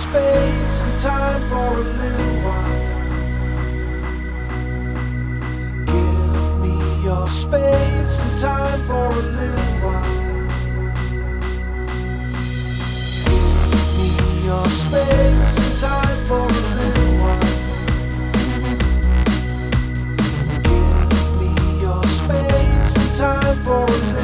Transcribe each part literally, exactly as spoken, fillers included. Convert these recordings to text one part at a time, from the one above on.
space and time for a little while. Give me your space and time for a little while. Give me your space and time for a little while. Give me your space and time for a little while.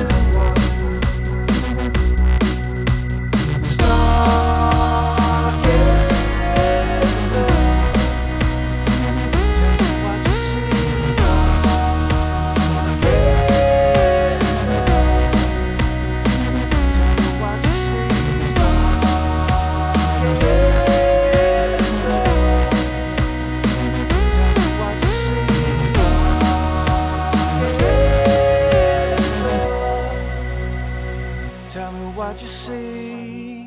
Tell me what you see.